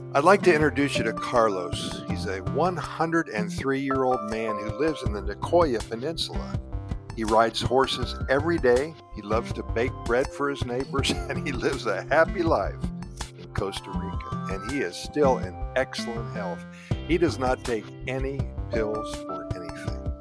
I'd like to introduce you to Carlos. He's a 103-year-old man who lives in the Nicoya Peninsula. He rides horses every day, he loves to bake bread for his neighbors, and he lives a happy life in Costa Rica. And he is still in excellent health. He does not take any pills for anything.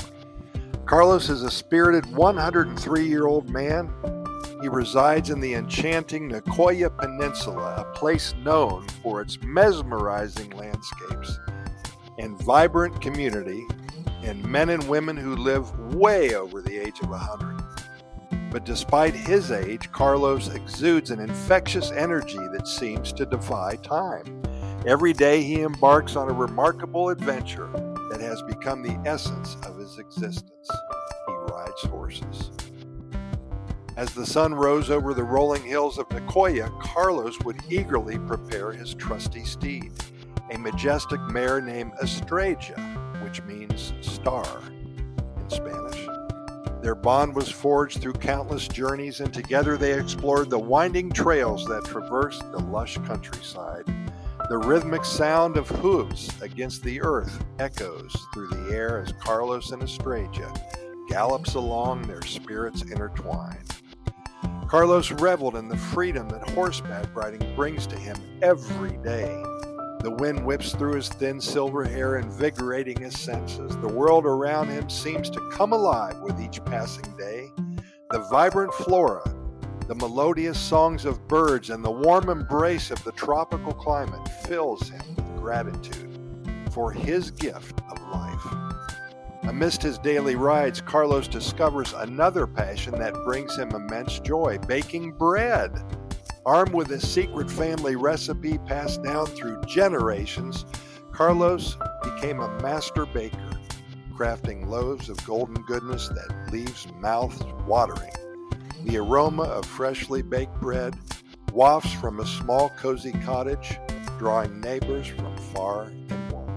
Carlos is a spirited 103-year-old man. He resides in the enchanting Nicoya Peninsula, a place known for its mesmerizing landscapes and vibrant community, and men and women who live way over the age of 100. But despite his age, Carlos exudes an infectious energy that seems to defy time. Every day he embarks on a remarkable adventure that has become the essence of his existence. He rides horses. As the sun rose over the rolling hills of Nicoya, Carlos would eagerly prepare his trusty steed, a majestic mare named Estrella, which means star in Spanish. Their bond was forged through countless journeys, and together they explored the winding trails that traversed the lush countryside. The rhythmic sound of hooves against the earth echoes through the air as Carlos and Estrella gallops along, their spirits intertwined. Carlos reveled in the freedom that horseback riding brings to him every day. The wind whips through his thin silver hair, invigorating his senses. The world around him seems to come alive with each passing day. The vibrant flora, the melodious songs of birds, and the warm embrace of the tropical climate fills him with gratitude for his gift of life. Amidst his daily rides, Carlos discovers another passion that brings him immense joy: baking bread. Armed with a secret family recipe passed down through generations, Carlos became a master baker, crafting loaves of golden goodness that leaves mouths watering. The aroma of freshly baked bread wafts from a small cozy cottage, drawing neighbors from far and wide.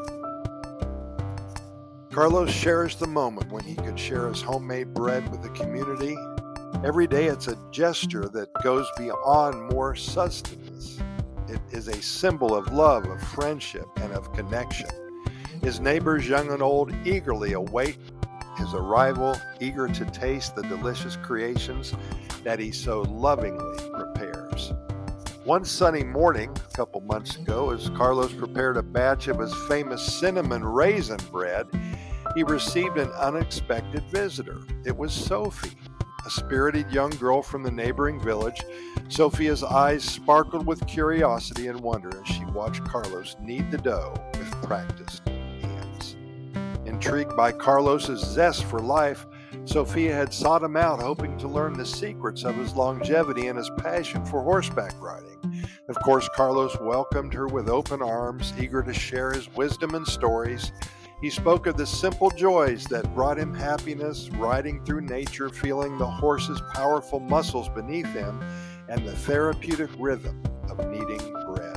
Carlos cherished the moment when he could share his homemade bread with the community. Every day it's a gesture that goes beyond more sustenance. It is a symbol of love, of friendship, and of connection. His neighbors, young and old, eagerly await his arrival, eager to taste the delicious creations that he so lovingly prepares. One sunny morning, a couple months ago, as Carlos prepared a batch of his famous cinnamon raisin bread, he received an unexpected visitor. It was Sophie, a spirited young girl from the neighboring village. Sophia's eyes sparkled with curiosity and wonder as she watched Carlos knead the dough with practiced hands. Intrigued by Carlos's zest for life, Sophia had sought him out, hoping to learn the secrets of his longevity and his passion for horseback riding. Of course, Carlos welcomed her with open arms, eager to share his wisdom and stories. He spoke of the simple joys that brought him happiness, riding through nature, feeling the horse's powerful muscles beneath him, and the therapeutic rhythm of kneading bread.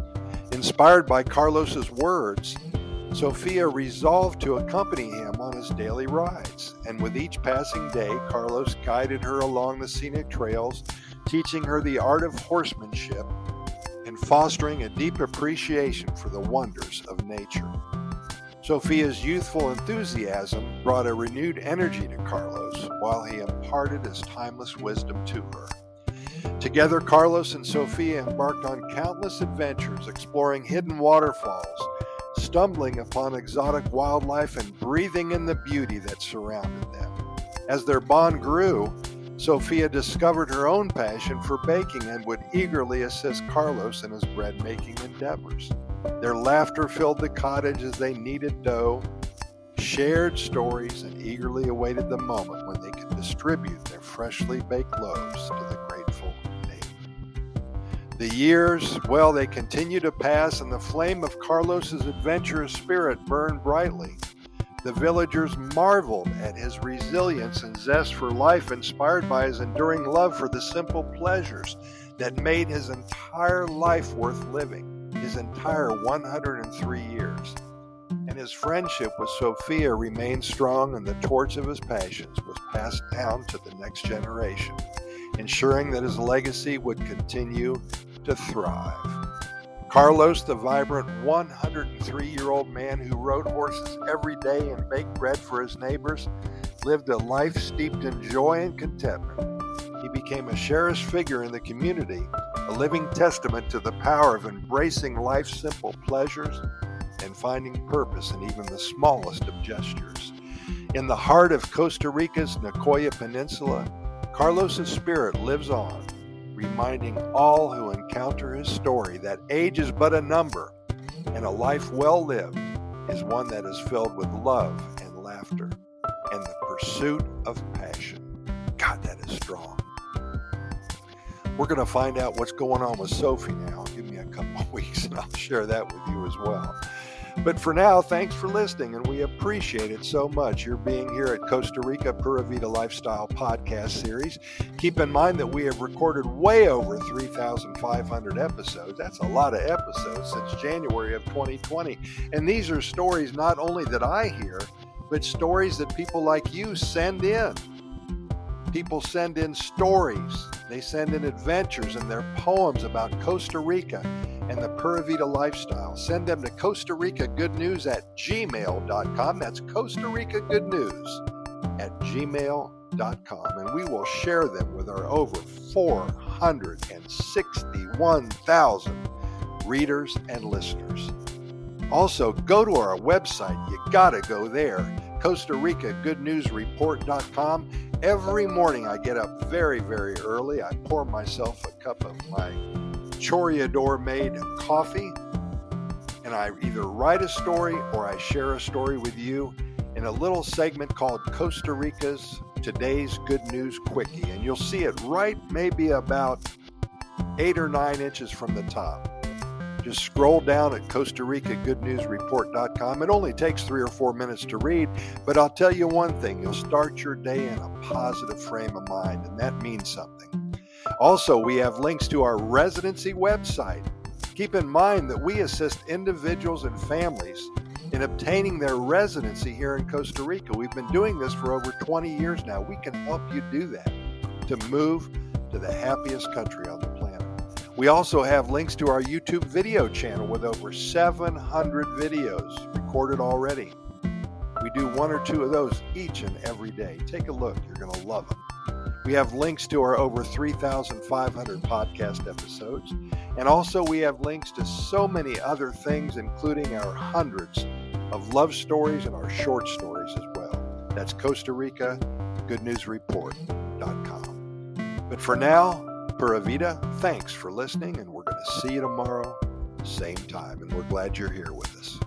Inspired by Carlos's words, Sophia resolved to accompany him on his daily rides, and with each passing day, Carlos guided her along the scenic trails, teaching her the art of horsemanship and fostering a deep appreciation for the wonders of nature. Sophia's youthful enthusiasm brought a renewed energy to Carlos, while he imparted his timeless wisdom to her. Together, Carlos and Sophia embarked on countless adventures, exploring hidden waterfalls, stumbling upon exotic wildlife, and breathing in the beauty that surrounded them. As their bond grew, Sophia discovered her own passion for baking and would eagerly assist Carlos in his bread-making endeavors. Their laughter filled the cottage as they kneaded dough, shared stories, and eagerly awaited the moment when they could distribute their freshly baked loaves to the grateful neighbor. The years, well, they continued to pass, and the flame of Carlos's adventurous spirit burned brightly. The villagers marveled at his resilience and zest for life, inspired by his enduring love for the simple pleasures that made his entire life worth living. His entire 103 years. And his friendship with Sophia remained strong, and the torch of his passions was passed down to the next generation, ensuring that his legacy would continue to thrive. Carlos, the vibrant 103-year-old man who rode horses every day and baked bread for his neighbors, lived a life steeped in joy and contentment. He became a cherished figure in the community, a living testament to the power of embracing life's simple pleasures and finding purpose in even the smallest of gestures. In the heart of Costa Rica's Nicoya Peninsula, Carlos's spirit lives on, reminding all who encounter his story that age is but a number, and a life well lived is one that is filled with love and laughter and the pursuit of passion. God, that is strong. We're going to find out what's going on with Sophie now. Give me a couple of weeks and I'll share that with you as well. But for now, thanks for listening, and we appreciate it so much. You're being here at Costa Rica Pura Vida Lifestyle Podcast Series. Keep in mind that we have recorded way over 3,500 episodes. That's a lot of episodes since January of 2020. And these are stories not only that I hear, but stories that people like you send in. People send in stories. They send in adventures and their poems about Costa Rica and the Pura Vida lifestyle. Send them to Costa Rica Good News at gmail.com. That's Costa Rica Good News at gmail.com. And we will share them with our over 461,000 readers and listeners. Also, go to our website. You gotta go there. Costa Rica Good News Report.com. Every morning I get up very, very early. I pour myself a cup of my Choreador made coffee, and I either write a story or I share a story with you in a little segment called Costa Rica's Today's Good News Quickie. And you'll see it right maybe about 8 or 9 inches from the top. Just scroll down at Costa Rica Good News Report.com. It only takes 3 or 4 minutes to read, but I'll tell you one thing, you'll start your day in a positive frame of mind, and that means something. Also, we have links to our residency website. Keep in mind that we assist individuals and families in obtaining their residency here in Costa Rica. We've been doing this for over 20 years now. We can help you do that to move to the happiest country on the planet. We also have links to our YouTube video channel with over 700 videos recorded already. We do 1 or 2 of those each and every day. Take a look. You're going to love them. We have links to our over 3,500 podcast episodes. And also we have links to so many other things, including our hundreds of love stories and our short stories as well. That's Costa Rica Good News Report.com. But for now, Pura Vida, thanks for listening, and we're going to see you tomorrow, same time, and we're glad you're here with us.